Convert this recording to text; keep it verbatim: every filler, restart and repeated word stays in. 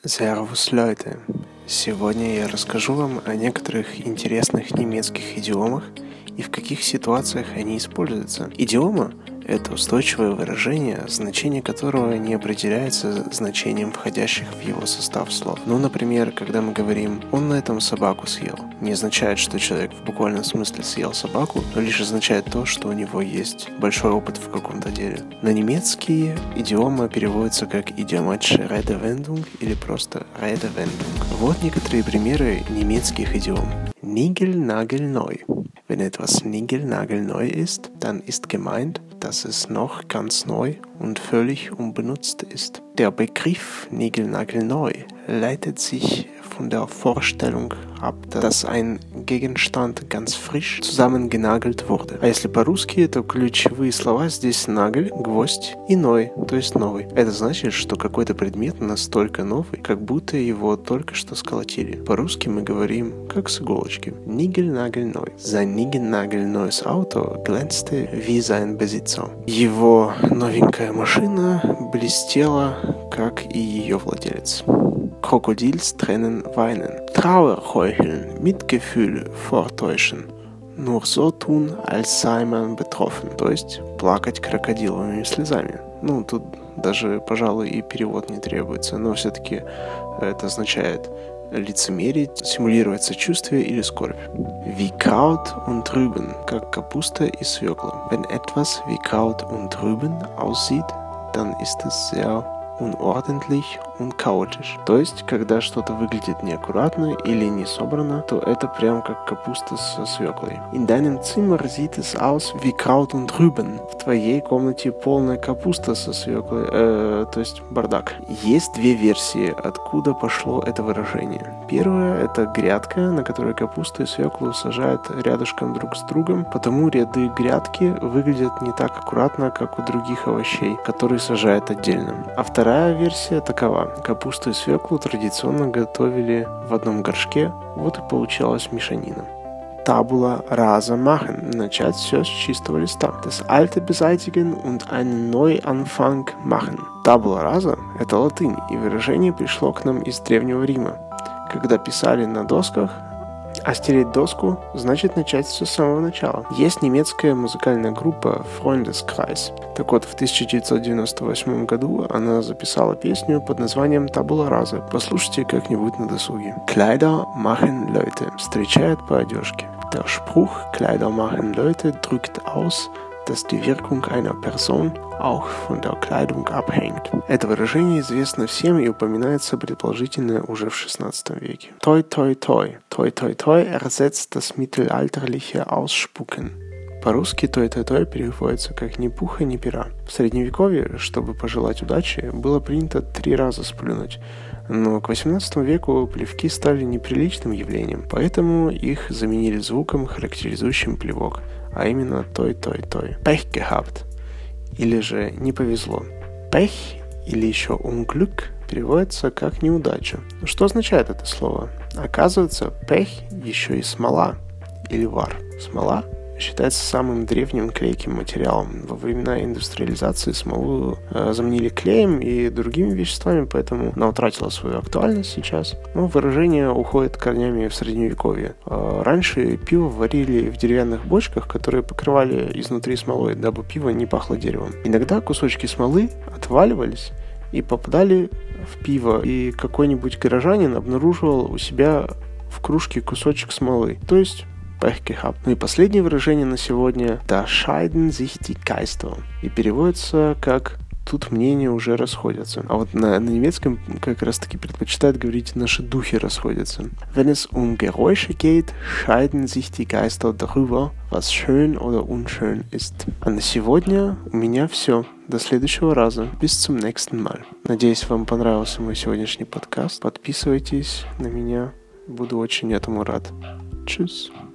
Servus Leute! Сегодня я расскажу вам о некоторых интересных немецких идиомах и в каких ситуациях они используются. Идиома – это устойчивое выражение, значение которого не определяется значением входящих в его состав слов. Ну, например, когда мы говорим «он на этом собаку съел», не означает, что человек в буквальном смысле съел собаку, но лишь означает то, что у него есть большой опыт в каком-то деле. На немецкий идиома переводится как idiomatische Redewendung или просто Redewendung. Вот некоторые примеры немецких идиом. Nigelnagelneu. Wenn etwas niegelnagelneu ist, dann ist gemeint, dass es noch ganz neu und völlig unbenutzt ist. Der Begriff niegelnagelneu leitet sich von der Vorstellung ab, dass ein Gegenstand ganz frisch zusammengenagelt wurde. А если по-русски, то ключевые слова здесь нагель, гвоздь и ной, то есть новый. Это значит, что какой-то предмет настолько новый, как будто его только что сколотили. По-русски мы говорим как с иголочки. Niegelnagelneu. Sein niegelnagelneues Auto glänzte wie sein Besitzer. Его новенькая машина блестела, как и ее владелец. Krokodilstränen weinen, Trauer heucheln, Mitgefühl vortäuschen, nur so tun, als sei man betroffen, то есть плакать крокодиловыми слезами. Ну, тут даже, пожалуй, и перевод не требуется, но все-таки это означает лицемерить, симулировать сочувствие или скорбь. Wie Kraut und Rüben, как капуста и свекла. Wenn etwas wie Kraut und Rüben aussieht, dann ist es sehr unordentlich und chaotisch. То есть, когда что-то выглядит неаккуратно или не собрано, то это прям как капуста со свеклой. In deinem Zimmer sieht es aus wie Kraut und Rüben. В твоей комнате полная капуста со свеклой, э, то есть бардак. Есть две версии, откуда пошло это выражение. Первая – это грядка, на которой капусту и свеклу сажают рядышком друг с другом, потому ряды грядки выглядят не так аккуратно, как у других овощей, которые сажают отдельно. А вторая версия такова. Капусту и свеклу традиционно готовили в одном горшке, вот и получалась мешанина. Tabula rasa machen. Начать все с чистого листа. Das alte beseitigen und einen Neuanfang machen. Tabula rasa – это латынь, и выражение пришло к нам из Древнего Рима. Когда писали на досках, а стереть доску значит начать все с самого начала. Есть немецкая музыкальная группа Freundeskreis. Так вот, в тысяча девятьсот девяносто восьмом году она записала песню под названием Tabula rasa. Послушайте как-нибудь на досуге. Kleider machen Leute. Встречают по одежке. Der Spruch Kleider machen Leute drückt aus, dass die Wirkung einer Person auch von der Kleidung abhängt. Это выражение известно всем и упоминается предположительно уже в шестнадцатом веке. Toi toi toi. Toi toi toi ersetzt das mittelalterliche Ausspucken. По-русски той той той переводится как «ни пуха, ни пера». В Средневековье, чтобы пожелать удачи, было принято три раза сплюнуть. Но к восемнадцатому веку плевки стали неприличным явлением, поэтому их заменили звуком, характеризующим плевок, а именно той той той. Pech gehabt. Или же «не повезло». Pech или еще Unglück переводится как «неудача». Что означает это слово? Оказывается, Pech еще и смола или вар. Смола считается самым древним клейким материалом. Во времена индустриализации смолу э, заменили клеем и другими веществами, поэтому она утратила свою актуальность сейчас. Но выражение уходит корнями в Средневековье. Э, раньше пиво варили в деревянных бочках, которые покрывали изнутри смолой, дабы пиво не пахло деревом. Иногда кусочки смолы отваливались и попадали в пиво, и какой-нибудь горожанин обнаруживал у себя в кружке кусочек смолы. То есть Pech gehabt. Ну и последнее выражение на сегодня Da scheiden sich die Geister. И переводится как «тут мнения уже расходятся». А вот на, на немецком как раз таки предпочитают говорить «наши духи расходятся». Wenn es um Geräusche geht, scheiden sich die Geister darüber, was schön oder unschön ist. А на сегодня у меня все. До следующего раза. Bis zum nächsten Mal. Надеюсь, вам понравился мой сегодняшний подкаст. Подписывайтесь на меня. Буду очень этому рад. Tschüss.